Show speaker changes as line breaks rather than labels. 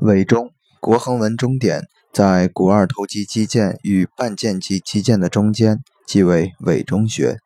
委中，国横纹中点在股二头肌肌腱与半腱肌肌腱的中间，即为委中穴。